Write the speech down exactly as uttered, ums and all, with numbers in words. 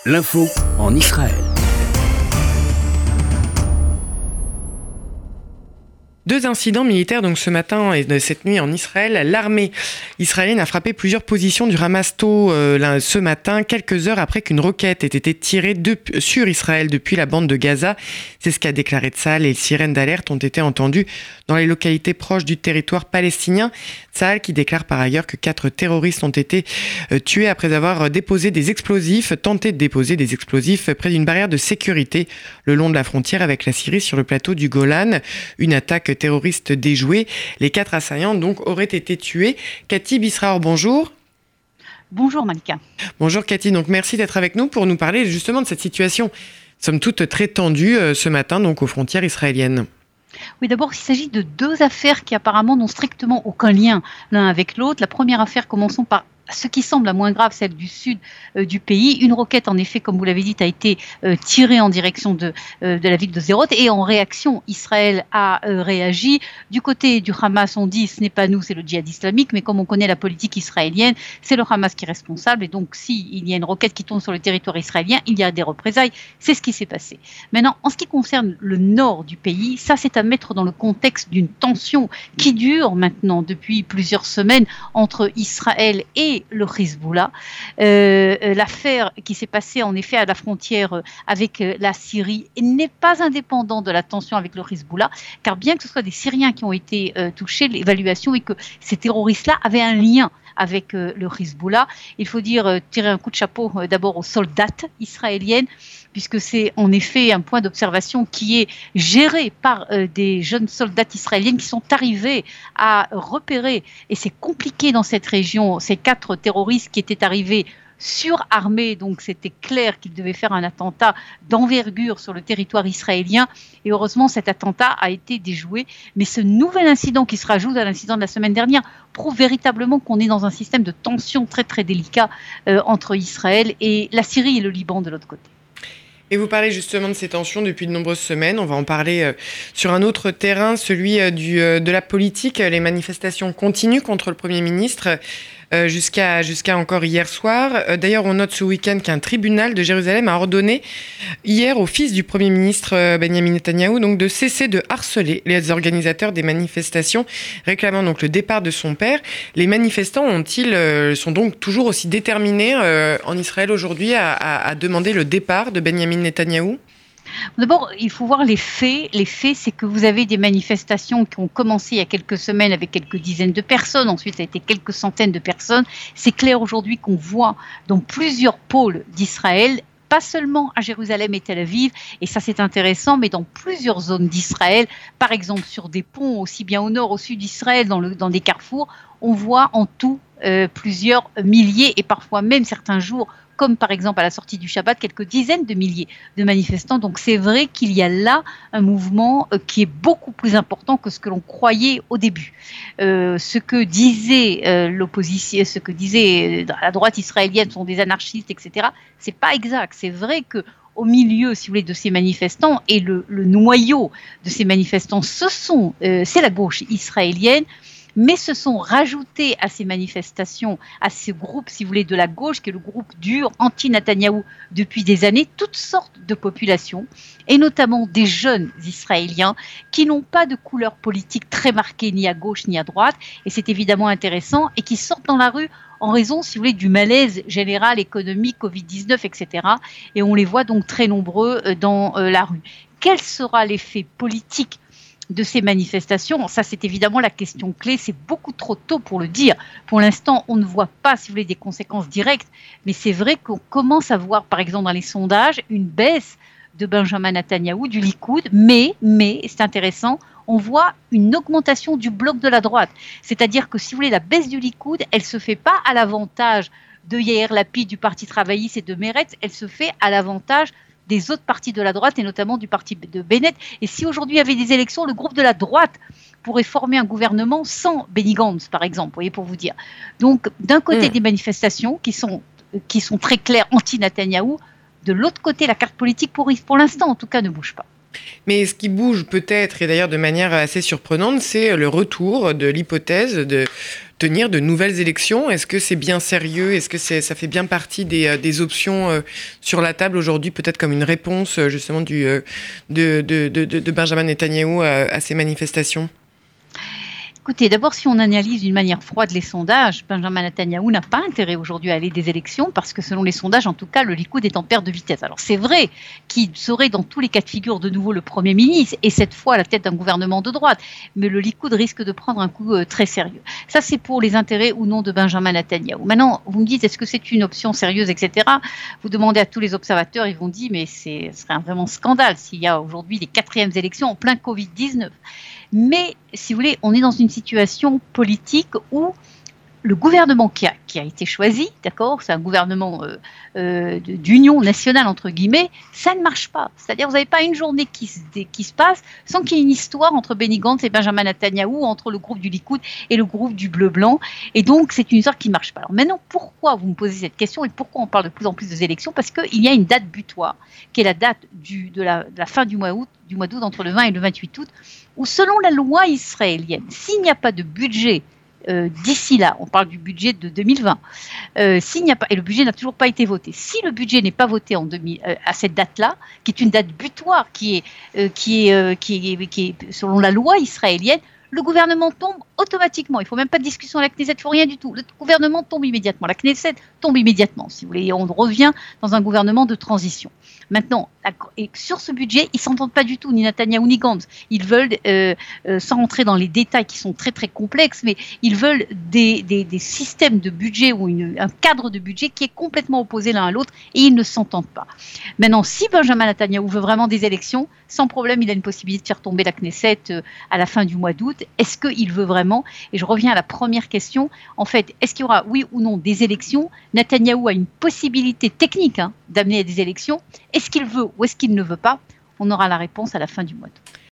L'info en Israël. Deux incidents militaires donc ce matin et cette nuit en Israël. L'armée israélienne a frappé plusieurs positions du Hamas tôt euh, ce matin, quelques heures après qu'une roquette ait été tirée de, sur Israël depuis la bande de Gaza. C'est ce qu'a déclaré Tsahal et les sirènes d'alerte ont été entendues dans les localités proches du territoire palestinien. Tsahal qui déclare par ailleurs que quatre terroristes ont été euh, tués après avoir déposé des explosifs, tenté de déposer des explosifs près d'une barrière de sécurité le long de la frontière avec la Syrie sur le plateau du Golan. Une attaque terroristes déjoués. Les quatre assaillants donc auraient été tués. Cathy Bisraor, bonjour. Bonjour Malika. Bonjour Cathy, donc merci d'être avec nous pour nous parler justement de cette situation, somme toute très tendue euh, ce matin donc aux frontières israéliennes. Oui, d'abord, il s'agit de deux affaires qui apparemment n'ont strictement aucun lien l'un avec l'autre. La première affaire, commençons par ce qui semble la moins grave, celle du sud euh, du pays. Une roquette, en effet, comme vous l'avez dit, a été euh, tirée en direction de, euh, de la ville de Sderot et en réaction, Israël a euh, réagi. Du côté du Hamas, on dit ce n'est pas nous, c'est le djihad islamique, mais comme on connaît la politique israélienne, c'est le Hamas qui est responsable et donc s'il y a une roquette qui tombe sur le territoire israélien, il y a des représailles. C'est ce qui s'est passé. Maintenant, en ce qui concerne le nord du pays, ça c'est à mettre dans le contexte d'une tension qui dure maintenant depuis plusieurs semaines entre Israël et le Hezbollah. Euh, l'affaire qui s'est passée en effet à la frontière avec la Syrie n'est pas indépendante de la tension avec le Hezbollah, car bien que ce soit des Syriens qui ont été euh, touchés, l'évaluation est que ces terroristes-là avaient un lien avec euh, le Hezbollah. Il faut dire euh, tirer un coup de chapeau euh, d'abord aux soldats israéliennes, puisque c'est en effet un point d'observation qui est géré par euh, des jeunes soldats israéliennes qui sont arrivés à repérer, et c'est compliqué dans cette région, ces quatre terroristes qui étaient arrivés surarmés, donc c'était clair qu'ils devaient faire un attentat d'envergure sur le territoire israélien, et heureusement cet attentat a été déjoué. Mais ce nouvel incident qui se rajoute à l'incident de la semaine dernière prouve véritablement qu'on est dans un système de tension très très délicat euh, entre Israël et la Syrie et le Liban de l'autre côté. Et vous parlez justement de ces tensions depuis de nombreuses semaines. On va en parler euh, sur un autre terrain, celui euh, du, euh, de la politique. Les manifestations continuent contre le Premier ministre euh, jusqu'à, jusqu'à encore hier soir. Euh, d'ailleurs, on note ce week-end qu'un tribunal de Jérusalem a ordonné hier au fils du Premier ministre euh, Benjamin Netanyahou donc, de cesser de harceler les organisateurs des manifestations, réclamant donc le départ de son père. Les manifestants ont-ils, euh, sont donc toujours aussi déterminés euh, en Israël aujourd'hui à, à, à demander le départ de Benjamin Netanyahou? D'abord, il faut voir les faits. Les faits, c'est que vous avez des manifestations qui ont commencé il y a quelques semaines avec quelques dizaines de personnes. Ensuite, ça a été quelques centaines de personnes. C'est clair aujourd'hui qu'on voit dans plusieurs pôles d'Israël, pas seulement à Jérusalem et Tel Aviv, et ça c'est intéressant, mais dans plusieurs zones d'Israël, par exemple sur des ponts, aussi bien au nord, au sud d'Israël, dans, le, dans des carrefours, on voit en tout euh, plusieurs milliers, et parfois même certains jours, comme par exemple à la sortie du Shabbat, quelques dizaines de milliers de manifestants. Donc c'est vrai qu'il y a là un mouvement euh, qui est beaucoup plus important que ce que l'on croyait au début. Euh, ce que disait euh, l'opposition, ce que disait euh, la droite israélienne sont des anarchistes, et cetera, c'est pas exact. C'est vrai que au milieu, si vous voulez, de ces manifestants et le, le noyau de ces manifestants, ce sont, euh, c'est la gauche israélienne, mais se sont rajoutés à ces manifestations, à ce groupe, si vous voulez, de la gauche, qui est le groupe dur, anti-Netanyahou, depuis des années, toutes sortes de populations, et notamment des jeunes Israéliens qui n'ont pas de couleur politique très marquée, ni à gauche ni à droite, et c'est évidemment intéressant, et qui sortent dans la rue en raison, si vous voulez, du malaise général économique, covid dix-neuf, et cetera. Et on les voit donc très nombreux dans euh, la rue. Quel sera l'effet politique de ces manifestations? Ça, c'est évidemment la question clé. C'est beaucoup trop tôt pour le dire. Pour l'instant, on ne voit pas, si vous voulez, des conséquences directes. Mais c'est vrai qu'on commence à voir, par exemple, dans les sondages, une baisse de Benjamin Netanyahou, du Likoud. Mais, mais, c'est intéressant, on voit une augmentation du bloc de la droite. C'est-à-dire que, si vous voulez, la baisse du Likoud, elle ne se fait pas à l'avantage de Yair Lapid, du Parti travailliste et de Meretz. Elle se fait à l'avantage des autres partis de la droite et notamment du parti de Bennett. Et si aujourd'hui il y avait des élections, le groupe de la droite pourrait former un gouvernement sans Benny Gantz, par exemple, vous voyez, pour vous dire. Donc, d'un côté, mmh. des manifestations qui sont, qui sont très claires anti-Netanyahou, de l'autre côté, la carte politique, pour, pour l'instant, en tout cas, ne bouge pas. Mais ce qui bouge peut-être, et d'ailleurs de manière assez surprenante, c'est le retour de l'hypothèse de, tenir de nouvelles élections. Est-ce que c'est bien sérieux? Est-ce que c'est, ça fait bien partie des, des options euh, sur la table aujourd'hui, peut-être comme une réponse justement du, euh, de, de, de, de Benjamin Netanyahou à, à ces manifestations? Écoutez, d'abord, si on analyse d'une manière froide les sondages, Benjamin Netanyahou n'a pas intérêt aujourd'hui à aller des élections parce que selon les sondages, en tout cas, le Likoud est en perte de vitesse. Alors c'est vrai qu'il serait dans tous les cas de figure de nouveau le Premier ministre et cette fois à la tête d'un gouvernement de droite, mais le Likoud risque de prendre un coup euh, très sérieux. Ça, c'est pour les intérêts ou non de Benjamin Netanyahou. Maintenant, vous me dites, est-ce que c'est une option sérieuse, et cetera. Vous demandez à tous les observateurs, ils vont dire, mais c'est, ce serait un vraiment scandale s'il y a aujourd'hui les quatrièmes élections en plein covid dix-neuf. Mais, si vous voulez, on est dans une situation politique où le gouvernement qui a, qui a été choisi, d'accord, c'est un gouvernement euh, euh, d'union nationale, entre guillemets, ça ne marche pas. C'est-à-dire, vous n'avez pas une journée qui se, qui se passe sans qu'il y ait une histoire entre Benny Gantz et Benjamin Netanyahou, entre le groupe du Likoud et le groupe du Bleu-Blanc. Et donc, c'est une histoire qui ne marche pas. Alors maintenant, pourquoi vous me posez cette question et pourquoi on parle de plus en plus des élections? Parce qu'il y a une date butoir, qui est la date du, de, la, de la fin du mois août, du mois d'août, entre le vingt et le vingt-huit août, où selon la loi israélienne, s'il n'y a pas de budget Euh, d'ici là, on parle du budget de deux mille vingt, euh, s'il n'y a pas, et le budget n'a toujours pas été voté, si le budget n'est pas voté en deux mille, euh, à cette date-là, qui est une date butoir, qui est, euh, qui est, euh, qui est, qui est selon la loi israélienne, le gouvernement tombe automatiquement. Il ne faut même pas de discussion à la Knesset, il ne faut rien du tout. Le gouvernement tombe immédiatement. La Knesset tombe immédiatement, si vous voulez. On revient dans un gouvernement de transition. Maintenant, et sur ce budget, ils ne s'entendent pas du tout, ni Netanyahou ni Gantz. Ils veulent, euh, euh, sans rentrer dans les détails qui sont très très complexes, mais ils veulent des, des, des systèmes de budget ou une, un cadre de budget qui est complètement opposé l'un à l'autre et ils ne s'entendent pas. Maintenant, si Benjamin Netanyahou veut vraiment des élections, sans problème, il a une possibilité de faire tomber la Knesset euh, à la fin du mois d'août. Est-ce qu'il veut vraiment? Et je reviens à la première question. En fait, est-ce qu'il y aura, oui ou non, des élections? Netanyahou a une possibilité technique hein, d'amener à des élections. Est-ce qu'il veut ou est-ce qu'il ne veut pas? On aura la réponse à la fin du mois d'août.